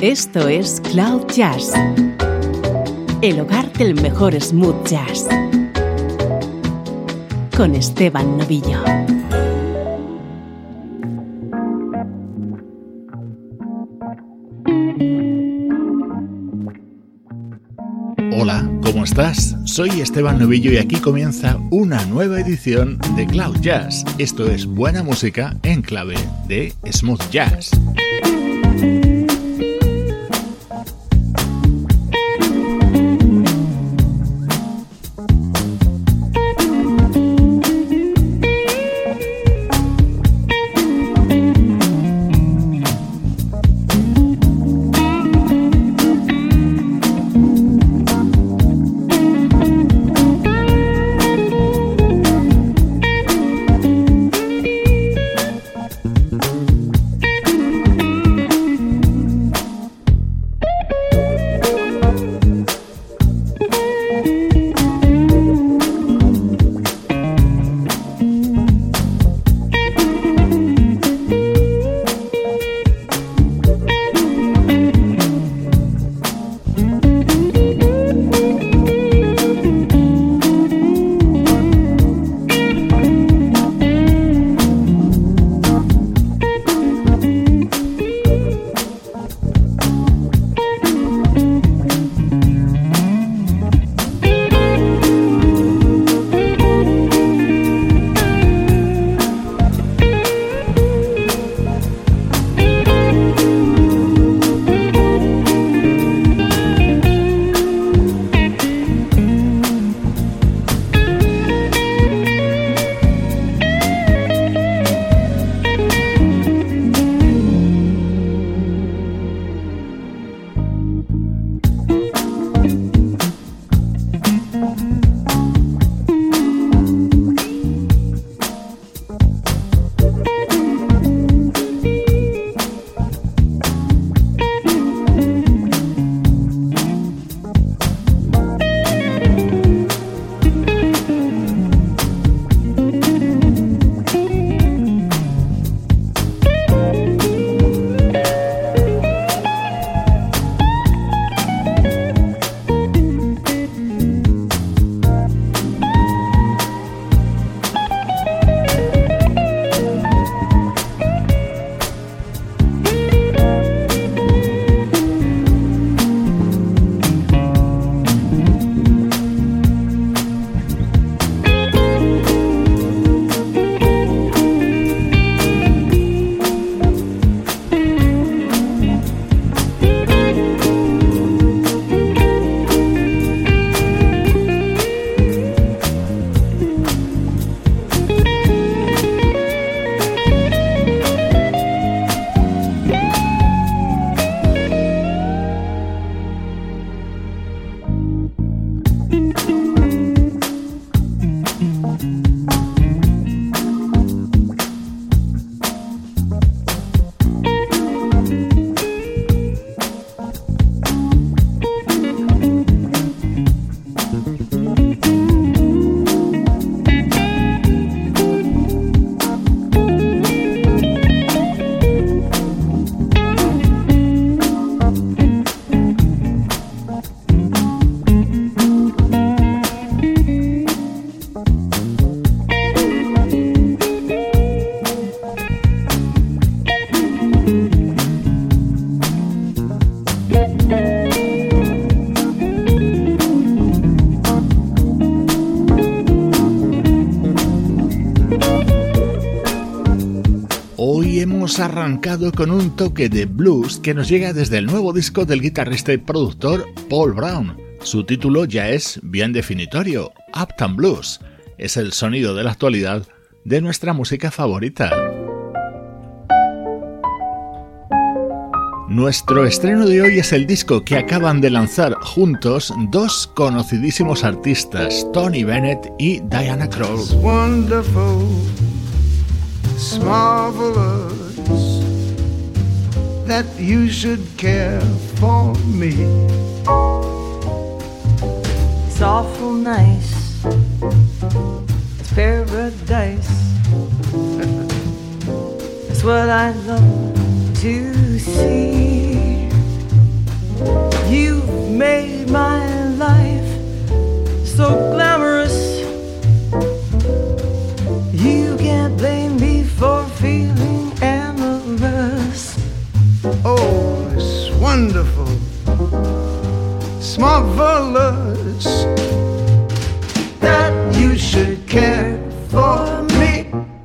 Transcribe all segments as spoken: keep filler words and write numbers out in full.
Esto es Cloud Jazz, el hogar del mejor smooth jazz, con Esteban Novillo. Hola, ¿cómo estás? Soy Esteban Novillo y aquí comienza una nueva edición de Cloud Jazz. Esto es buena música en clave de smooth jazz. Arrancado con un toque de blues que nos llega desde el nuevo disco del guitarrista y productor Paul Brown. Su título ya es bien definitorio, Uptown Blues. Es el sonido de la actualidad de nuestra música favorita. Nuestro estreno de hoy es el disco que acaban de lanzar juntos dos conocidísimos artistas, Tony Bennett y Diana Krall. It's marvelous that you should care for me. It's awful nice. It's paradise. It's what I love to see. made my life so glamorous. You can't blame me for feeling amorous. Oh, it's wonderful, it's marvelous that you should care for me.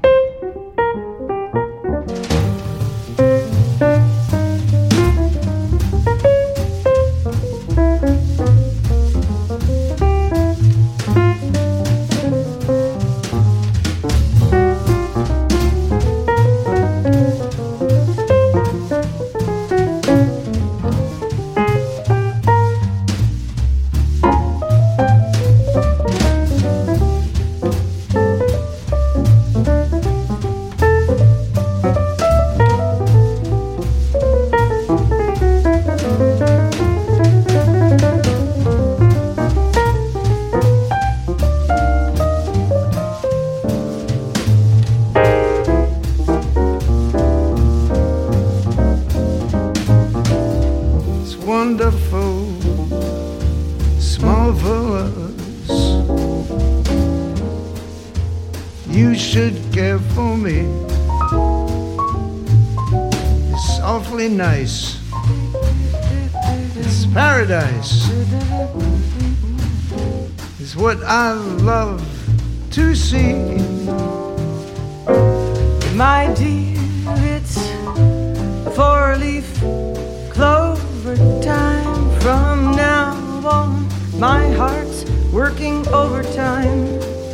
Nice. It's paradise. It's what I love to see. My dear, it's four-leaf clover time. From now on, my heart's working overtime.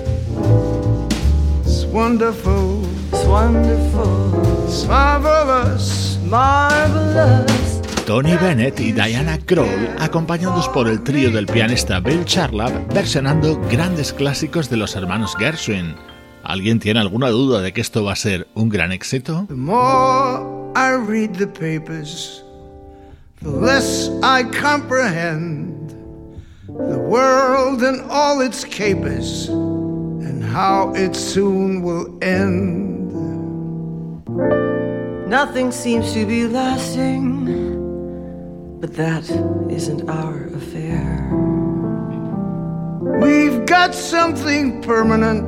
It's wonderful. It's wonderful. It's marvelous. Marvelous. Tony Bennett y Diana Krall, acompañados por el trío del pianista Bill Charlap, versionando grandes clásicos de los hermanos Gershwin. ¿Alguien tiene alguna duda de que esto va a ser un gran éxito? The more I read the papers, the less I comprehend the world and all its capers, and how it soon will end. Nothing seems to be lasting, but that isn't our affair. We've got something permanent,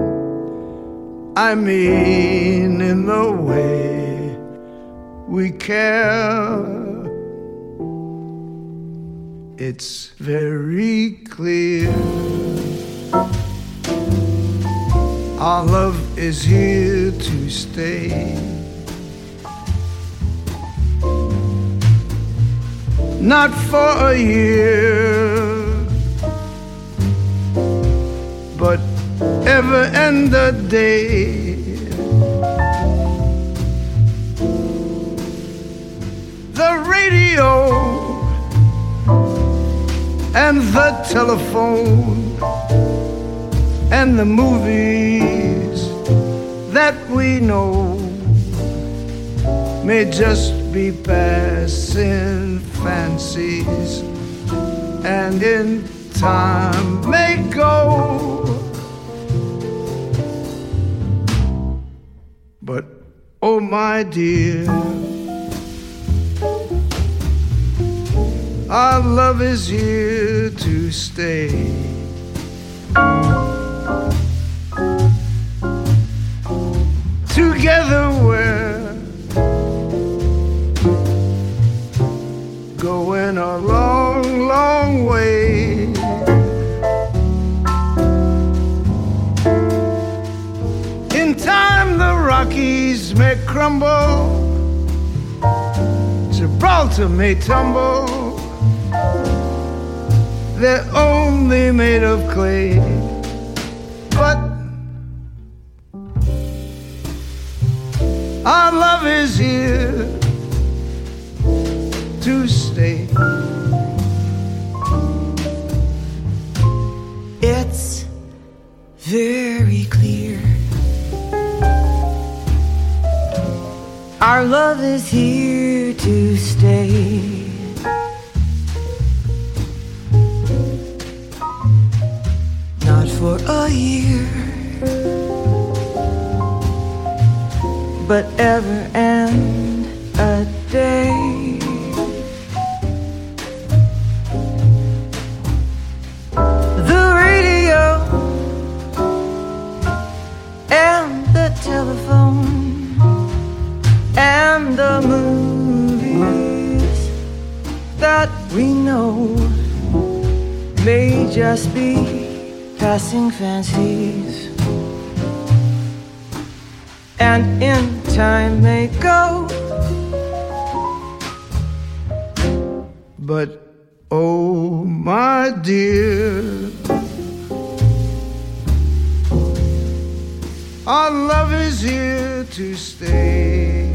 I mean in the way we care. It's very clear our love is here to stay. Not for a year, but ever and a day. The radio and the telephone and the movies that we know may just be passing fancies, and in time may go. But oh my dear, our love is here to stay. Together we're going a long, long way. In time the Rockies may crumble, Gibraltar may tumble, they're only made of clay. But our love is here to stay. It's very clear our love is here to stay. Not for a year, but ever and a day. And the movies that we know may just be passing fancies, and in time may go. But oh my dear, our love is here to stay.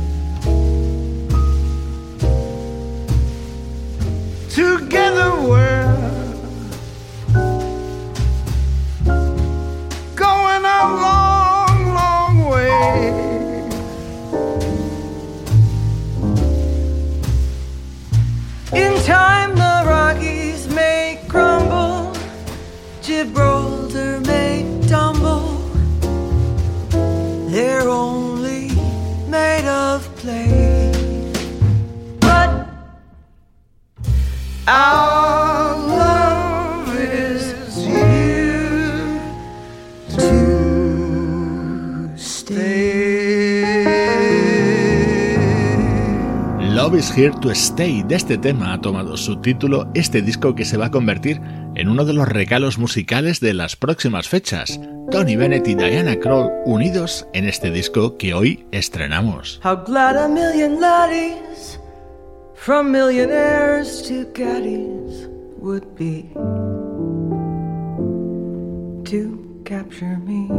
Together we're going a long, long way. In time the Rockies may crumble, Gibraltar may tumble. They're only made of clay, but our love is here to stay. Love is Here to Stay. De este tema ha tomado su título este disco que se va a convertir en uno de los regalos musicales de las próximas fechas. Tony Bennett y Diana Krall unidos en este disco que hoy estrenamos. How glad a million laddies, from millionaires to caddies, would be to capture me.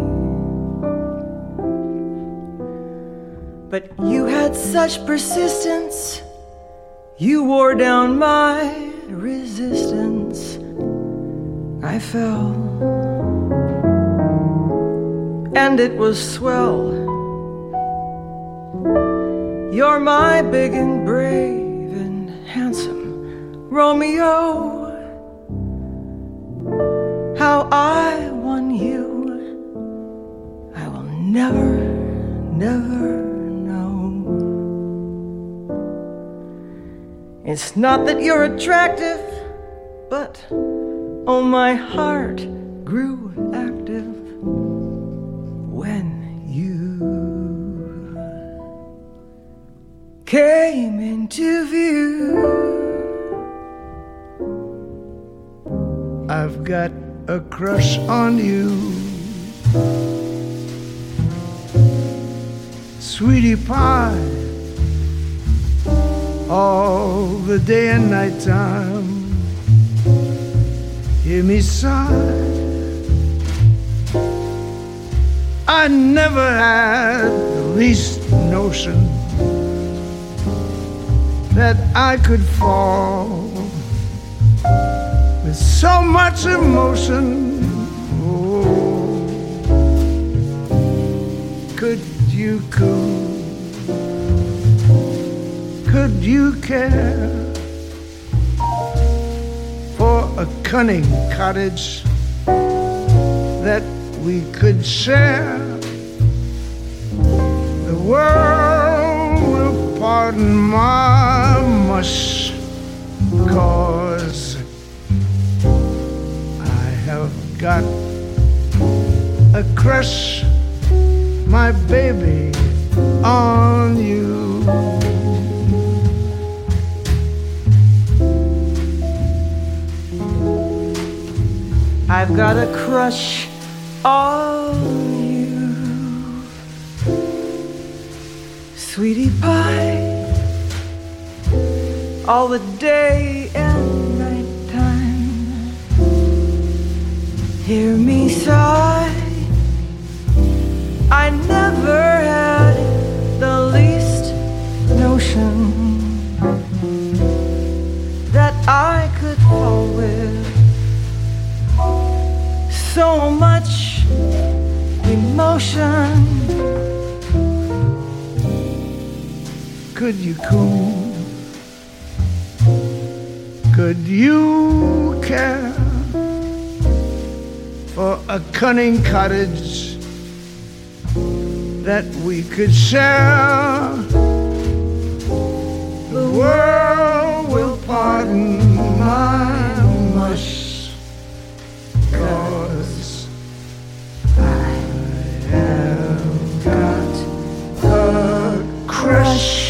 But you had such persistence, you wore down my resistance. I fell, and it was swell. You're my big and brave and handsome Romeo. How I won you, I will never, never know. It's not that you're attractive, but oh, my heart grew active when you came into view. I've got a crush on you, sweetie pie, all the day and night time. Hear me sigh, I never had the least notion that I could fall with so much emotion. Oh, could you cool? Could you care for a cunning cottage that we could share? The world will pardon my mush, 'cause I have got a crush, my baby, on you. I've got a crush on you, sweetie pie, all the day and night time. Hear me sigh, I never had the least notion that I could fall with so much emotion. Could you cool? Could you care for a cunning cottage that we could share? The world will pardon my mush, 'cause I have got a crush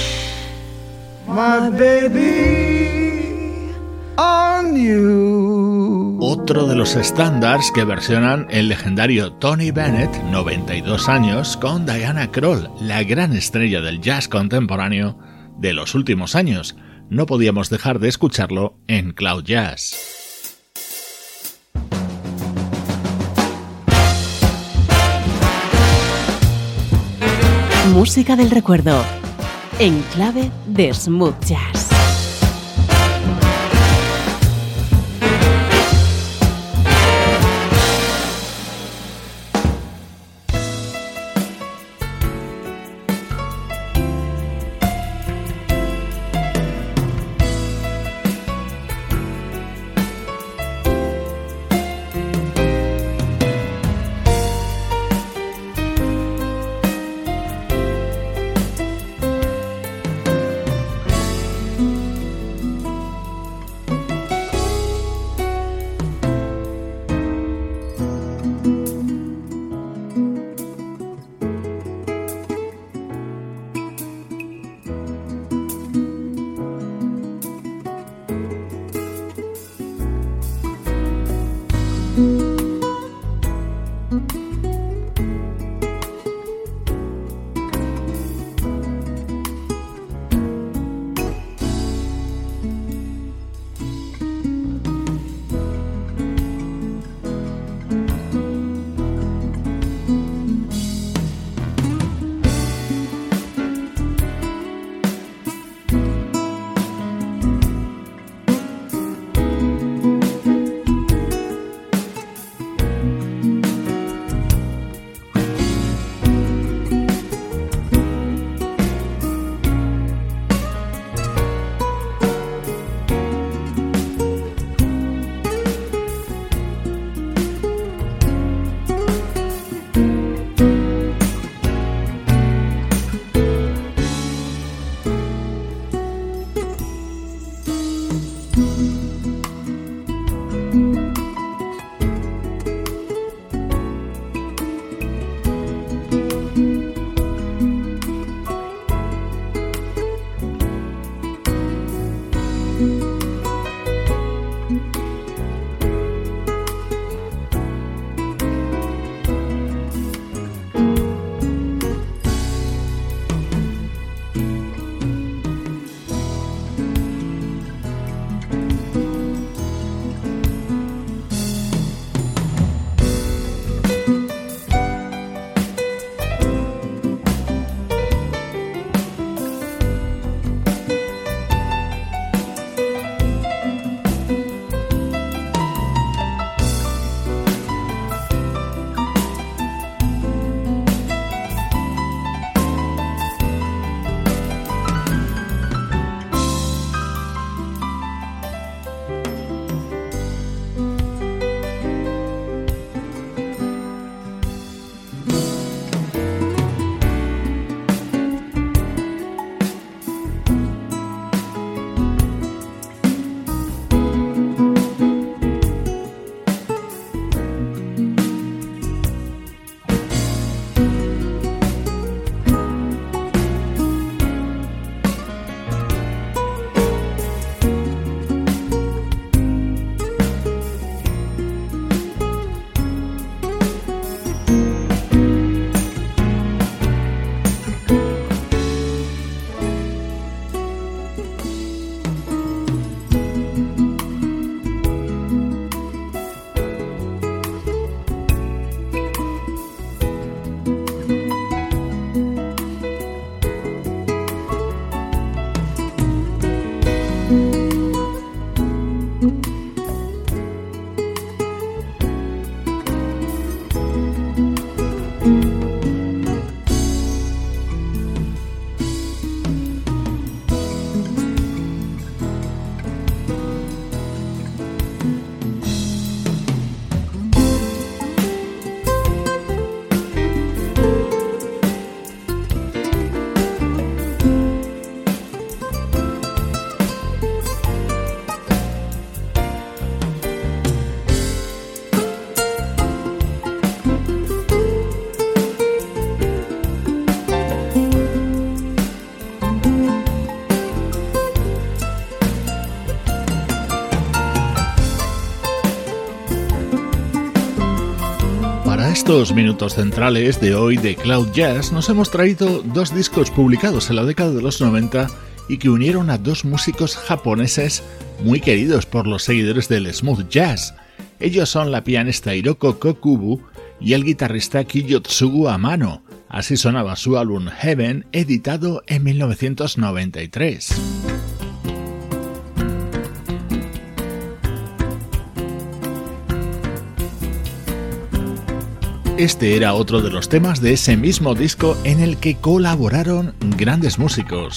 my baby on you. Otro de los estándares que versionan el legendario Tony Bennett, noventa y dos años, con Diana Krall, la gran estrella del jazz contemporáneo de los últimos años. No podíamos dejar de escucharlo en Cloud Jazz. Música del recuerdo, en clave de smooth jazz. estos minutos centrales de hoy de Cloud Jazz nos hemos traído dos discos publicados en la década de los noventa y que unieron a dos músicos japoneses muy queridos por los seguidores del smooth jazz. Ellos son la pianista Hiroko Kokubu y el guitarrista Kiyotsugu Amano. Así sonaba su álbum Heaven, editado en mil novecientos noventa y tres. Este era otro de los temas de ese mismo disco en el que colaboraron grandes músicos.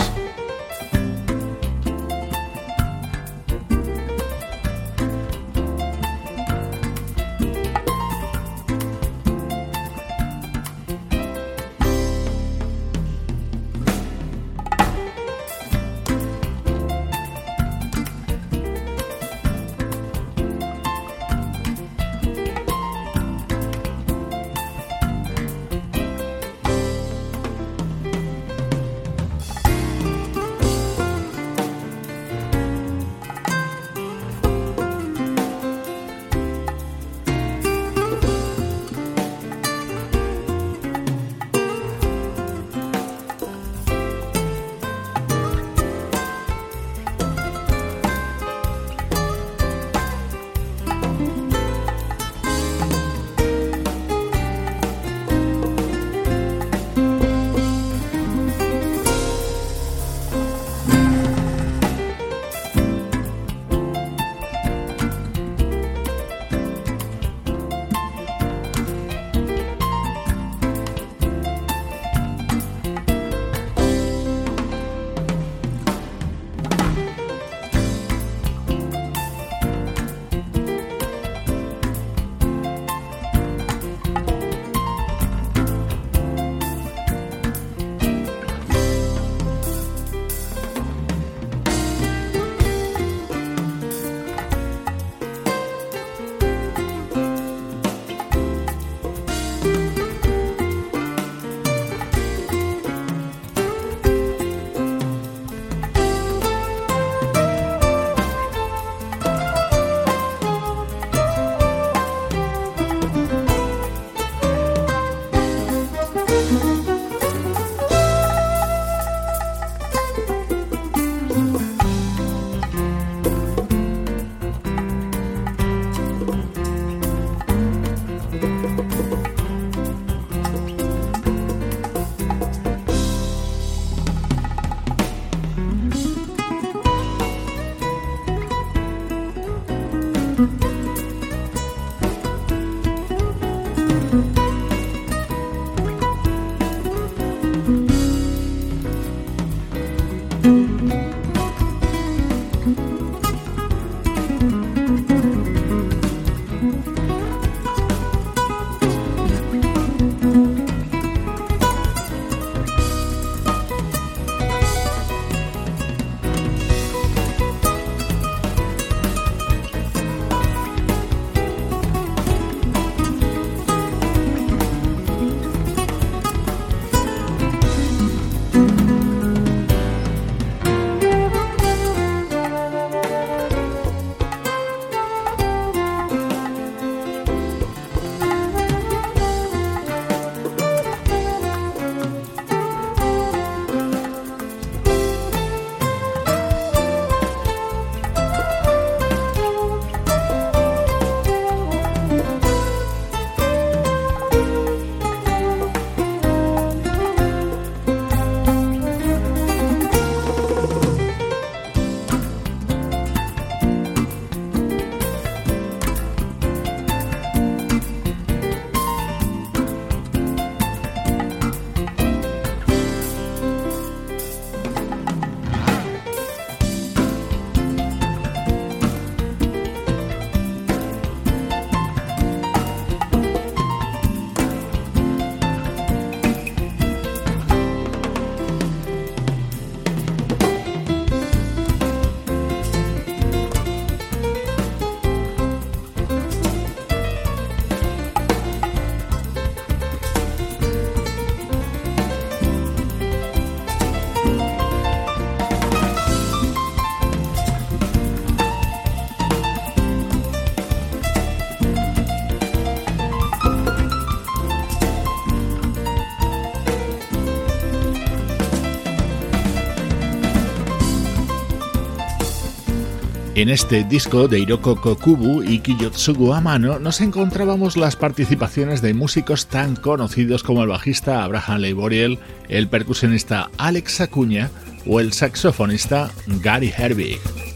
En este disco de Hiroko Kokubu y Kiyotsugu Amano nos encontrábamos las participaciones de músicos tan conocidos como el bajista Abraham Leiboriel, el percusionista Alex Acuña o el saxofonista Gary Herbig.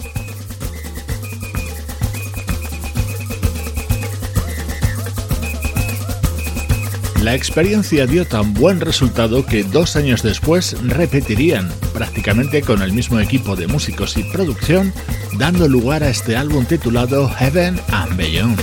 La experiencia dio tan buen resultado que dos años después repetirían, prácticamente con el mismo equipo de músicos y producción, dando lugar a este álbum titulado Heaven and Beyond.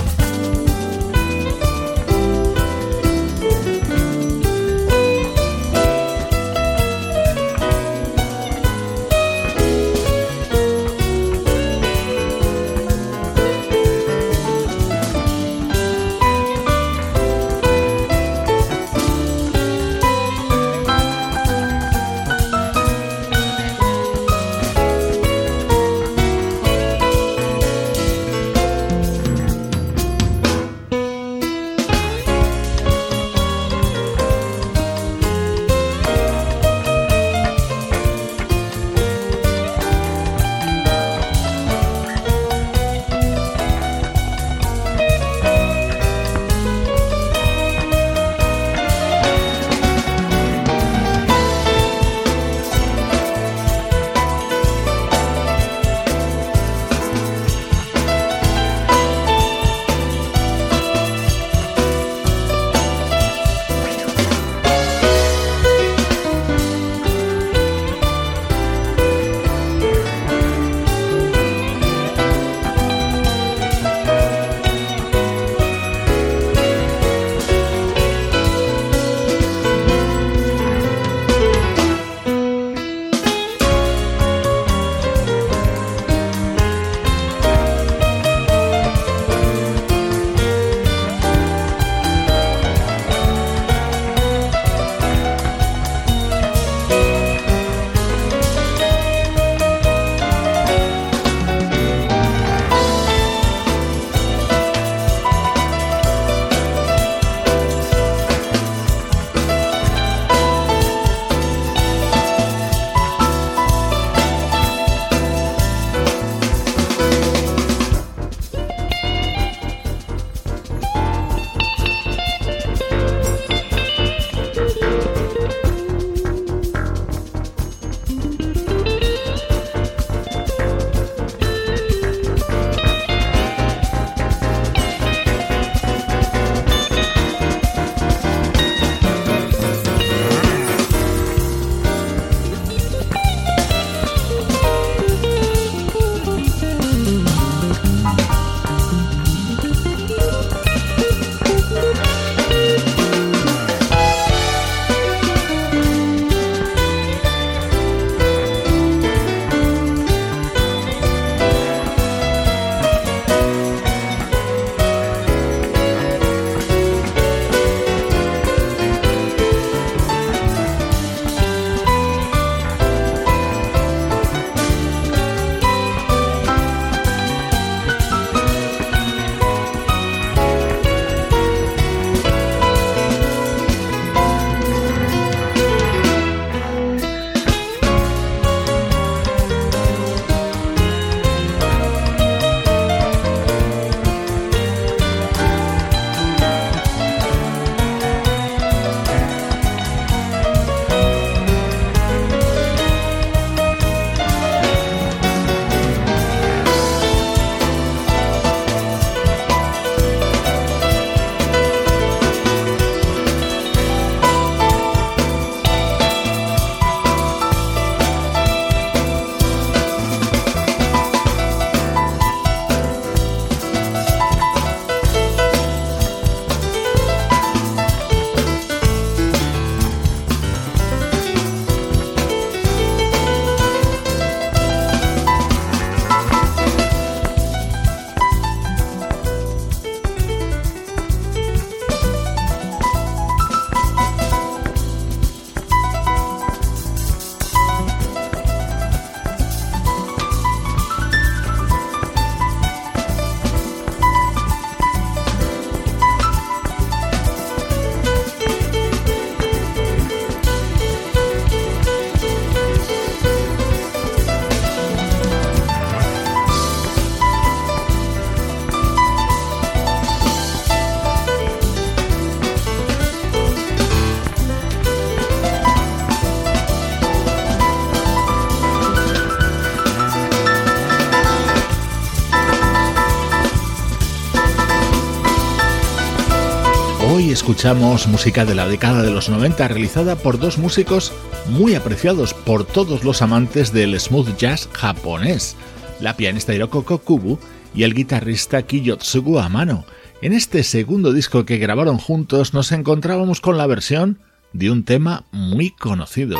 escuchamos música de la década de los noventa realizada por dos músicos muy apreciados por todos los amantes del smooth jazz japonés, la pianista Hiroko Kokubu y el guitarrista Kiyotsugu Amano. En este segundo disco que grabaron juntos nos encontrábamos con la versión de un tema muy conocido.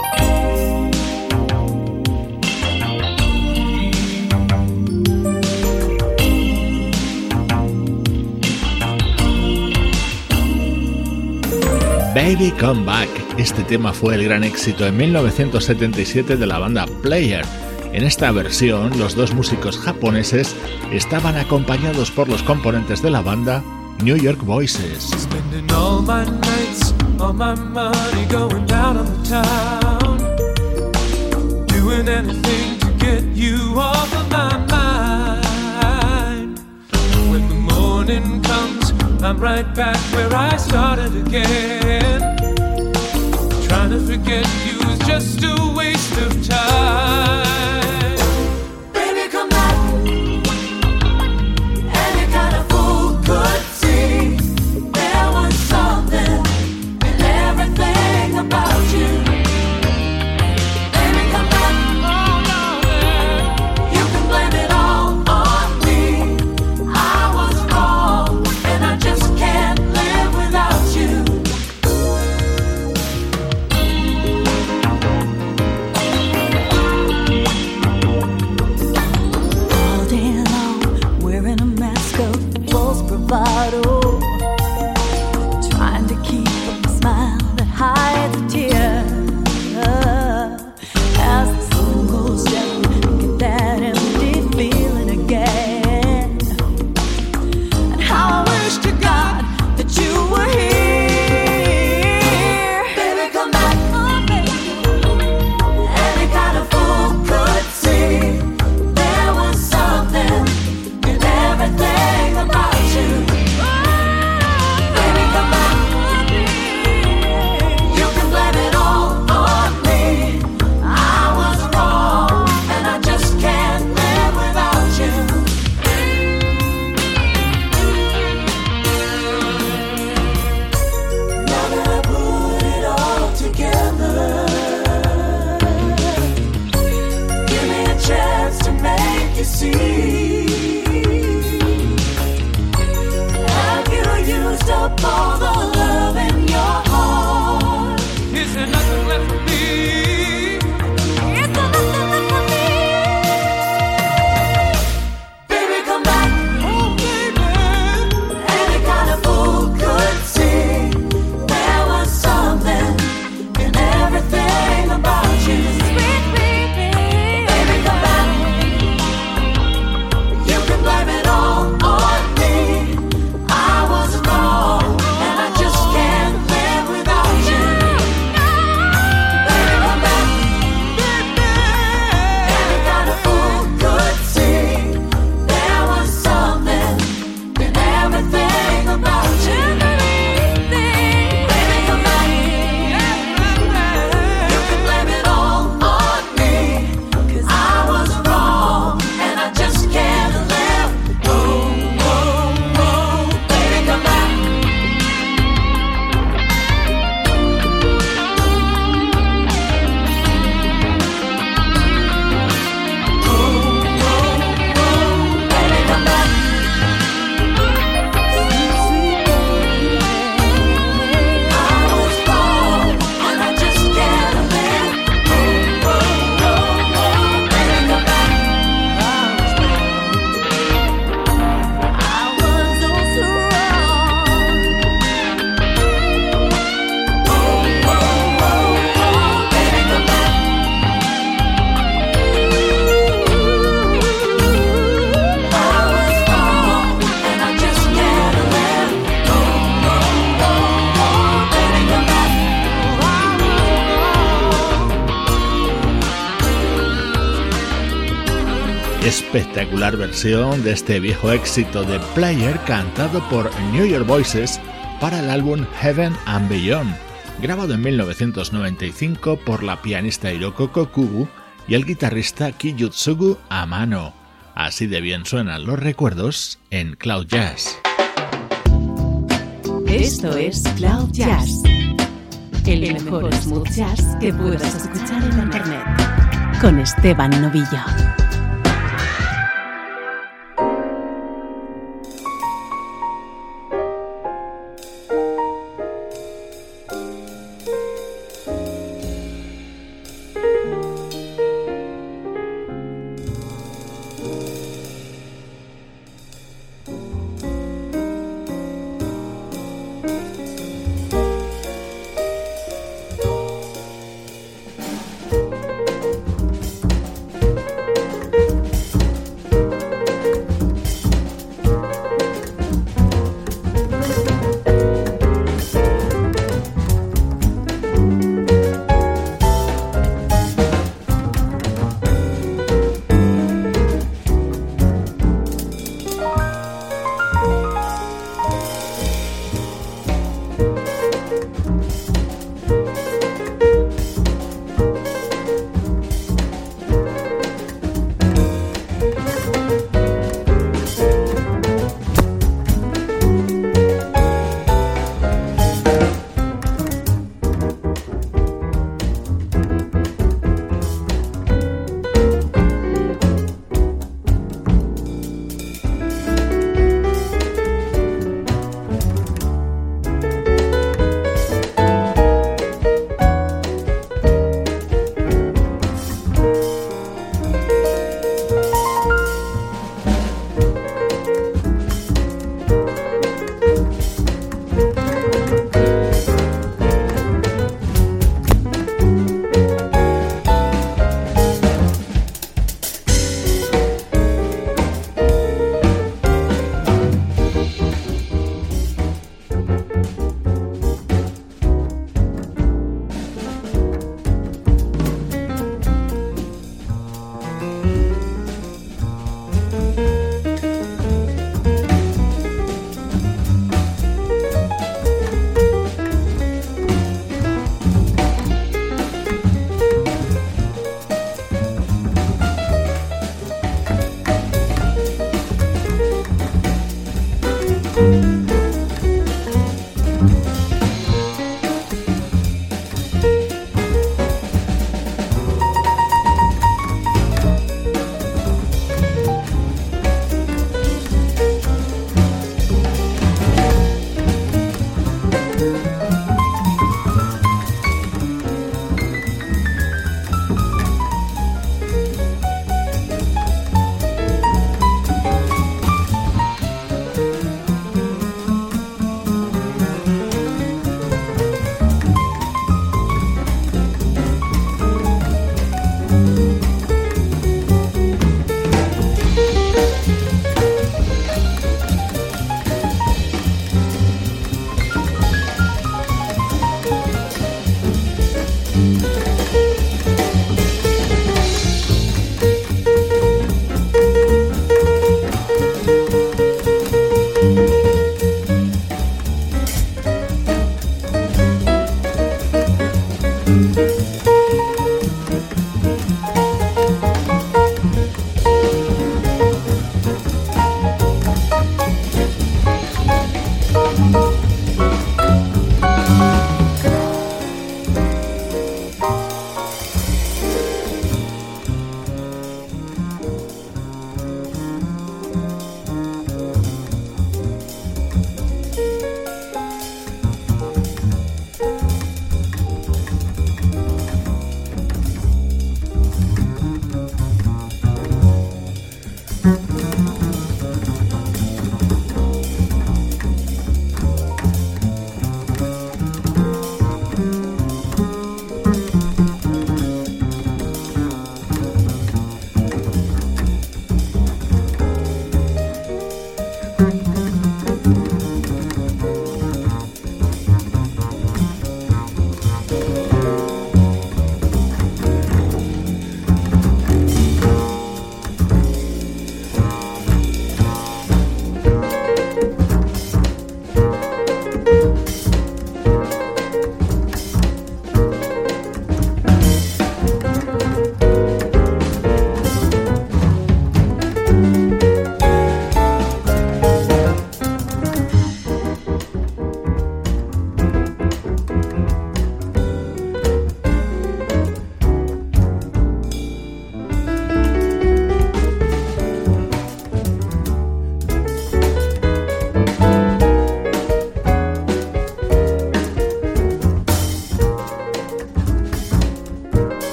Baby Come Back. Este tema fue el gran éxito en mil novecientos setenta y siete de la banda Player. En esta versión, los dos músicos japoneses estaban acompañados por los componentes de la banda New York Voices. Spending all my nights, all my money going down on the town, doing anything to get you off of my mind. When the morning comes, I'm right back where I started again. Trying to forget you is just a waste of time. Baby, come back. Any kind of fool could see there was something in everything about you. Baby, come back. Oh, no, man. You can blame it all on me. I was wrong, and I just can't live without you. All day long, wearing a mask of false bravado, trying to keep up a smile that hides a tear. As the sun goes down, get that empty feeling again. And how I wish to God that you were here. Baby, come back. Any kind of fool could see there was something in everything about you. Baby, come back. You can blame it all on me. I was wrong, and I just can't live without you. Now that I put it all together, give me a chance to make you see. Have you used up all the love in your heart? Is there nothing left for me? Is there nothing left for me? Baby, come back. Oh, baby. Any kind of fool could see there was something in everything about you. Sweet baby. Baby, come back. You can blame it all on me. I was wrong, and I just can't live without you. Baby, come back. Any kind of fool could see there was something in everything about you. Baby, come back. You can blame it all on me. 'Cause I was wrong, and I just can't live. Oh, oh, oh, baby, come back. Oh, oh, oh, baby, come back. I was wrong, and I just can't live. Oh, oh, oh, oh, baby, come back. I was also wrong. Oh, oh, oh, oh, baby, come back. I was wrong, and I just can't live. Oh, oh, oh, oh, baby, come back. Espectacular versión de este viejo éxito de Player cantado por New York Voices para el álbum Heaven and Beyond, grabado en mil novecientos noventa y cinco por la pianista Hiroko Kokubu y el guitarrista Kiyotsugu Amano. Así de bien suenan los recuerdos en Cloud Jazz. Esto es Cloud Jazz, el mejor smooth jazz que puedas escuchar en internet, con Esteban Novillo.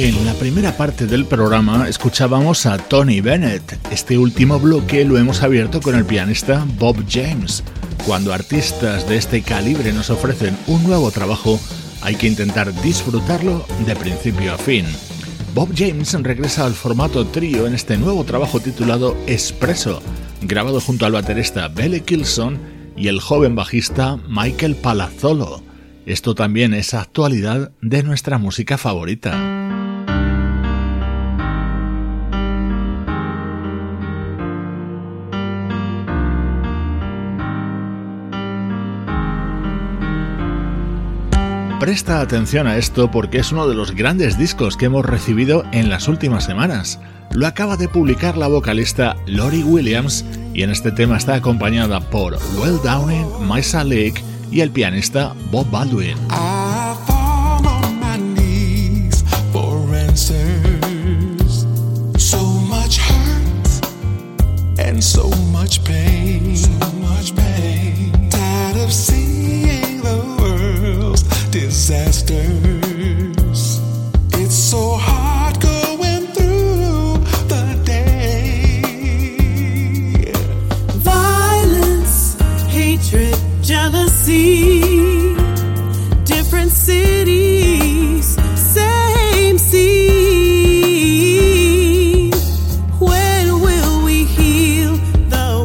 En la primera parte del programa escuchábamos a Tony Bennett. Este último bloque lo hemos abierto con el pianista Bob James. Cuando artistas de este calibre nos ofrecen un nuevo trabajo, hay que intentar disfrutarlo de principio a fin. Bob James regresa al formato trío en este nuevo trabajo titulado Espresso, grabado junto al baterista Billy Kilson y el joven bajista Michael Palazzolo. Esto también es actualidad de nuestra música favorita. Presta atención a esto porque es uno de los grandes discos que hemos recibido en las últimas semanas. Lo acaba de publicar la vocalista Lori Williams y en este tema está acompañada por Will Downing, Maisa Lake y el pianista Bob Baldwin. I fall on my knees for answers. So much hurt and so much pain. So much pain. Tired of seeing the world's disasters. It's so hard going through the day. Violence, hatred, jealousy, different cities, same scene. When will we heal the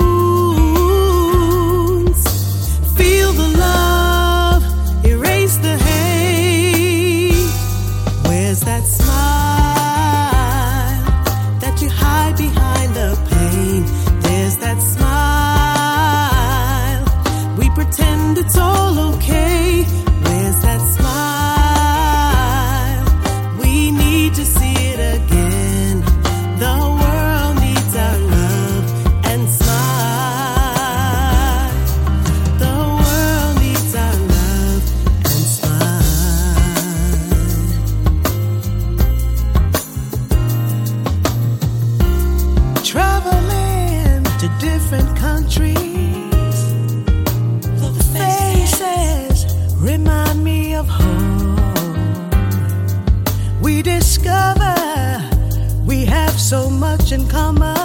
wounds? Feel the love, erase the hate. Where's that smile that you hide behind the pain? There's that smile. Pretend it's all okay. Where's that smile? We need to see it again. The world needs our love and smile. The world needs our love and smile. Traveling to different countries. Remind me of home. We discover we have so much in common.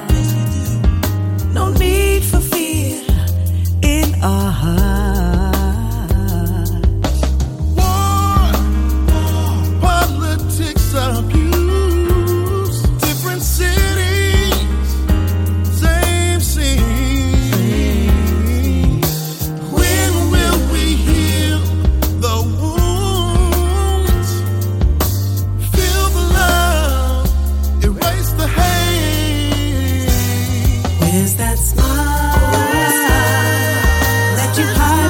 No need for fear in our hearts. War, politics, abuse, different cities, same scene. Is that smile that you hide?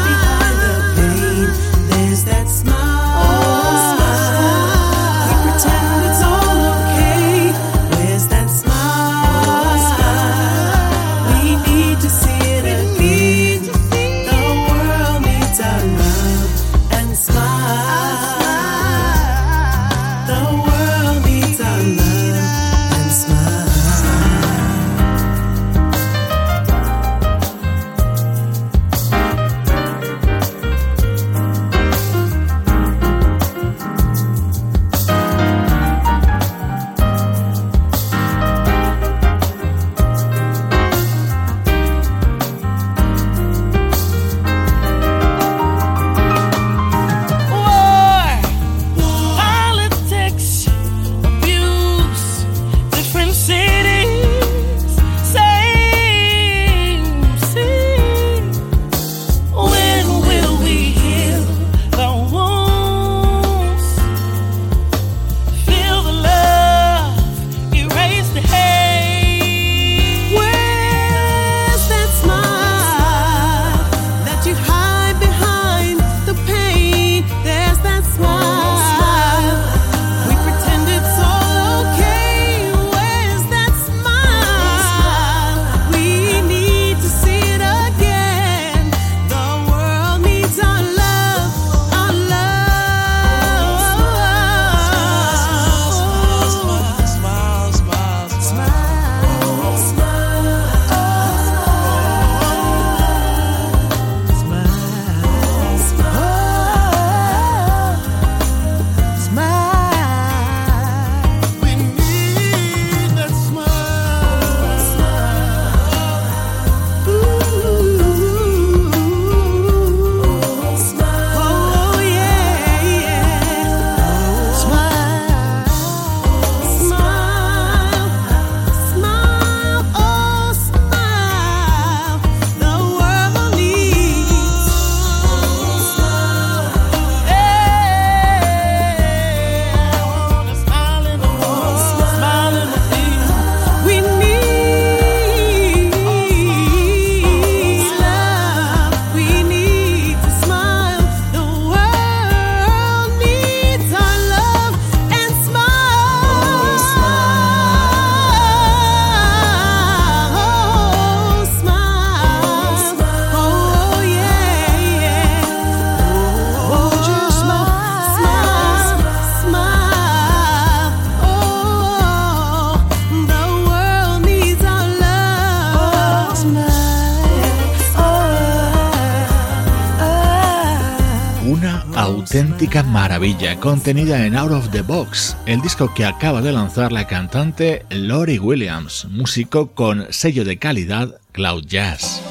auténtica maravilla contenida en Out of the Box, el disco que acaba de lanzar la cantante Lori Williams, músico con sello de calidad Cloud Jazz.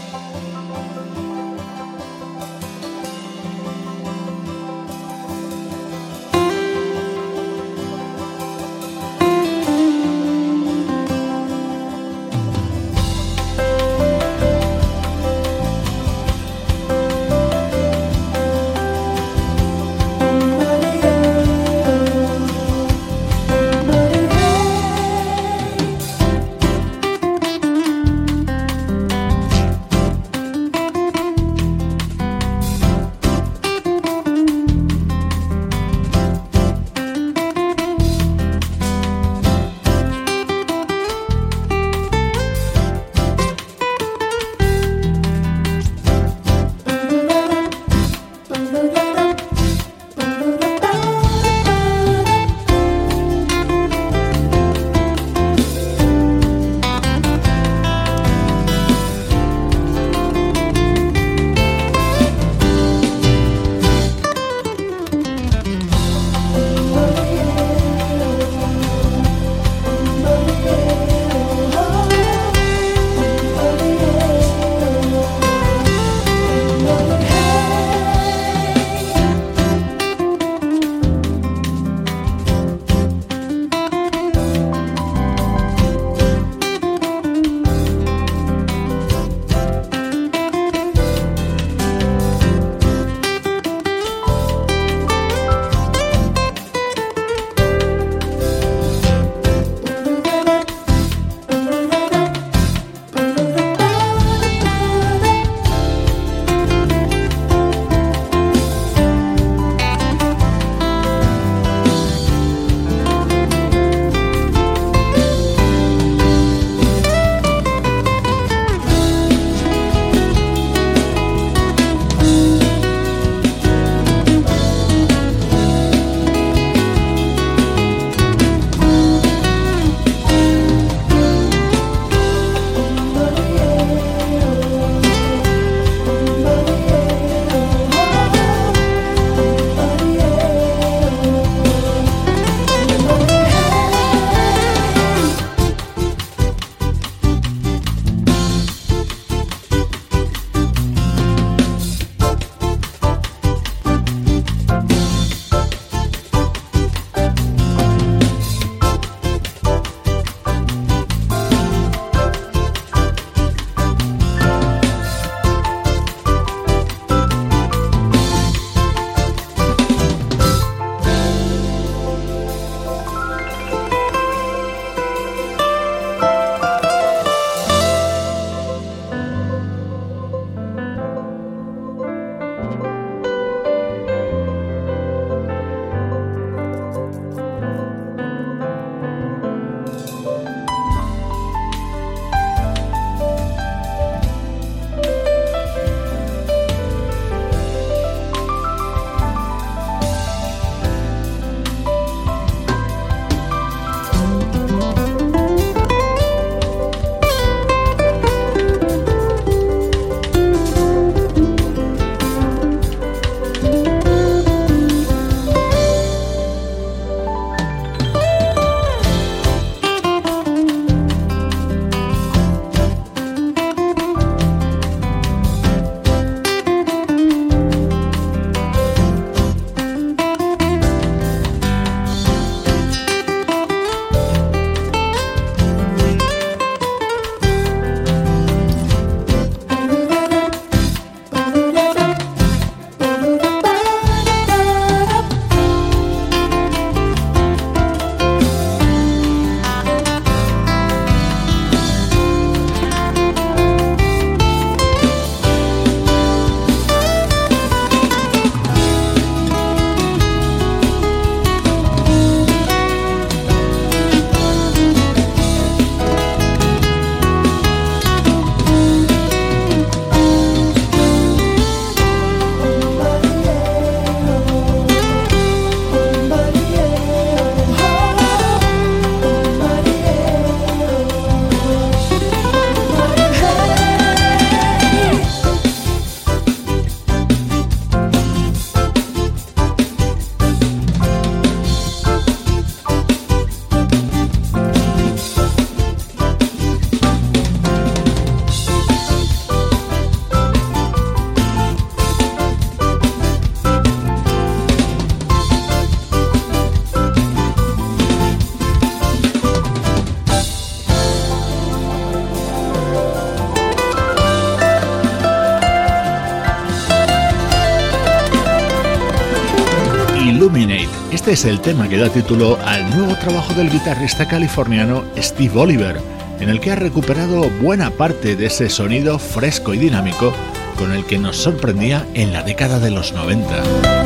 Illuminate. Este es el tema que da título al nuevo trabajo del guitarrista californiano Steve Oliver, en el que ha recuperado buena parte de ese sonido fresco y dinámico con el que nos sorprendía en la década de los noventa.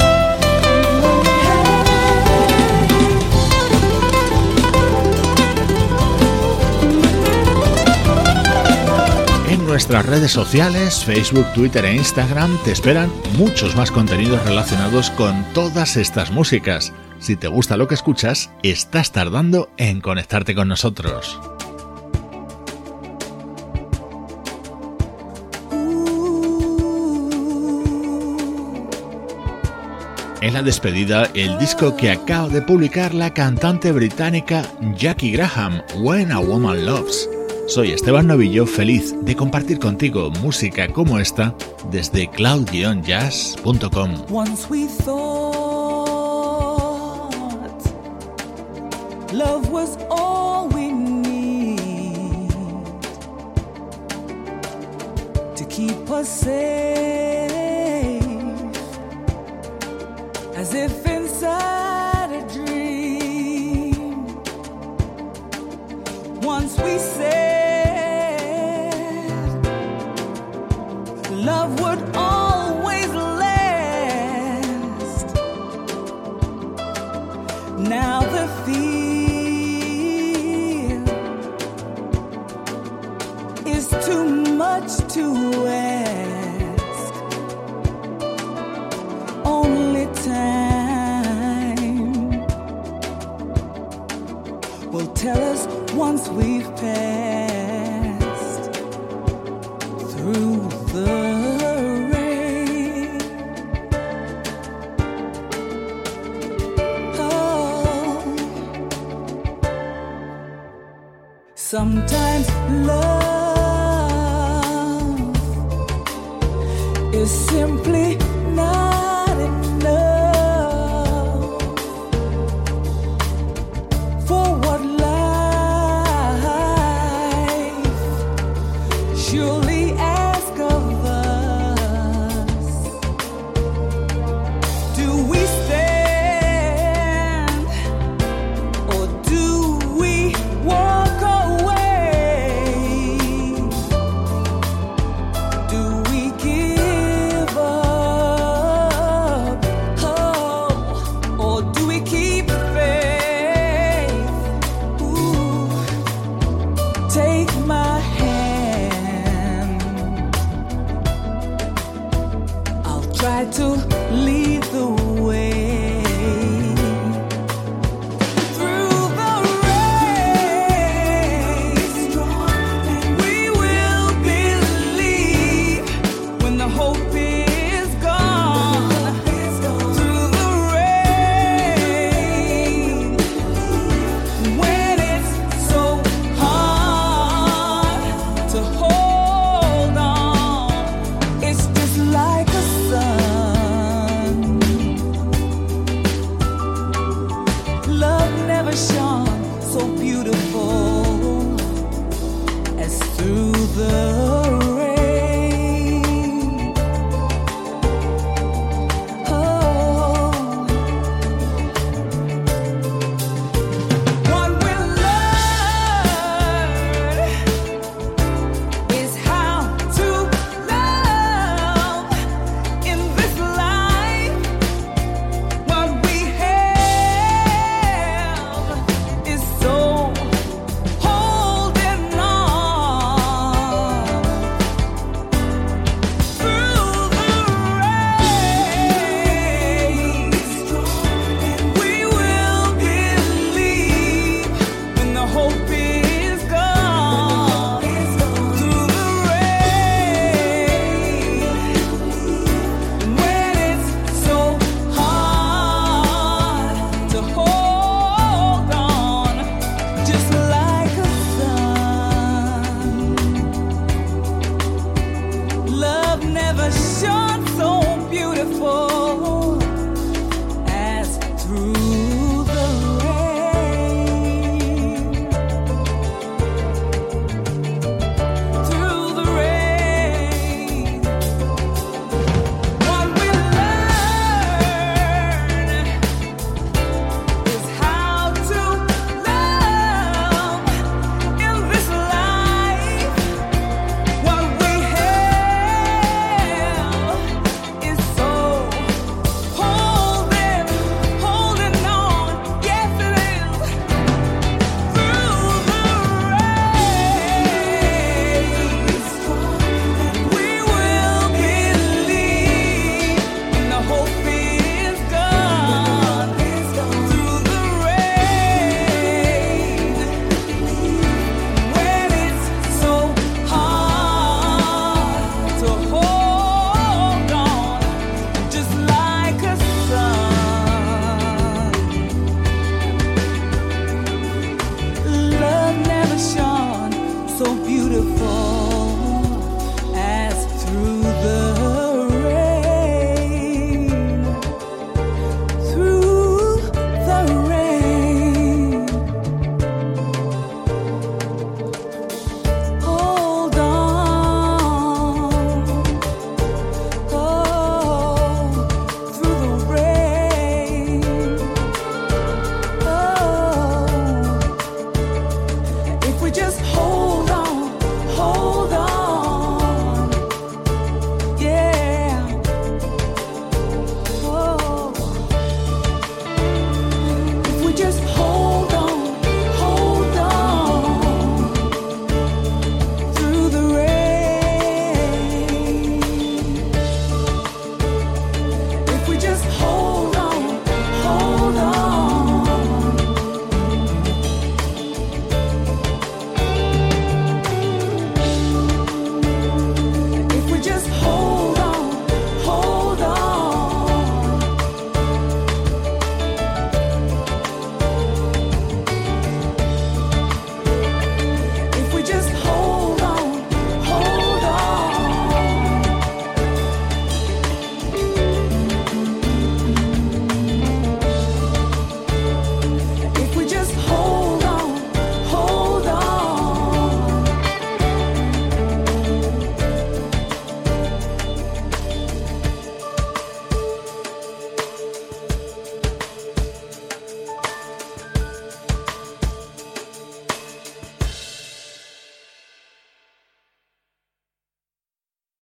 En nuestras redes sociales, Facebook, Twitter e Instagram, te esperan muchos más contenidos relacionados con todas estas músicas. Si te gusta lo que escuchas, estás tardando en conectarte con nosotros. En la despedida, el disco que acaba de publicar la cantante británica Jackie Graham, When a Woman Loves. Soy Esteban Novillo, feliz de compartir contigo música como esta desde cloud jazz punto com. Once we thought love was all we need to keep us safe, as if inside a dream. Once we said love would always last. Now the fear is too much to ask. Only time will tell us once we've passed through the sometimes love is simply not enough for what life surely asks of us. Do we stand or do we walk away? To lead the way through the race. We will believe when the hope is gone. Through the rain, when it's so hard to hold on, it's just like a sun. Shine.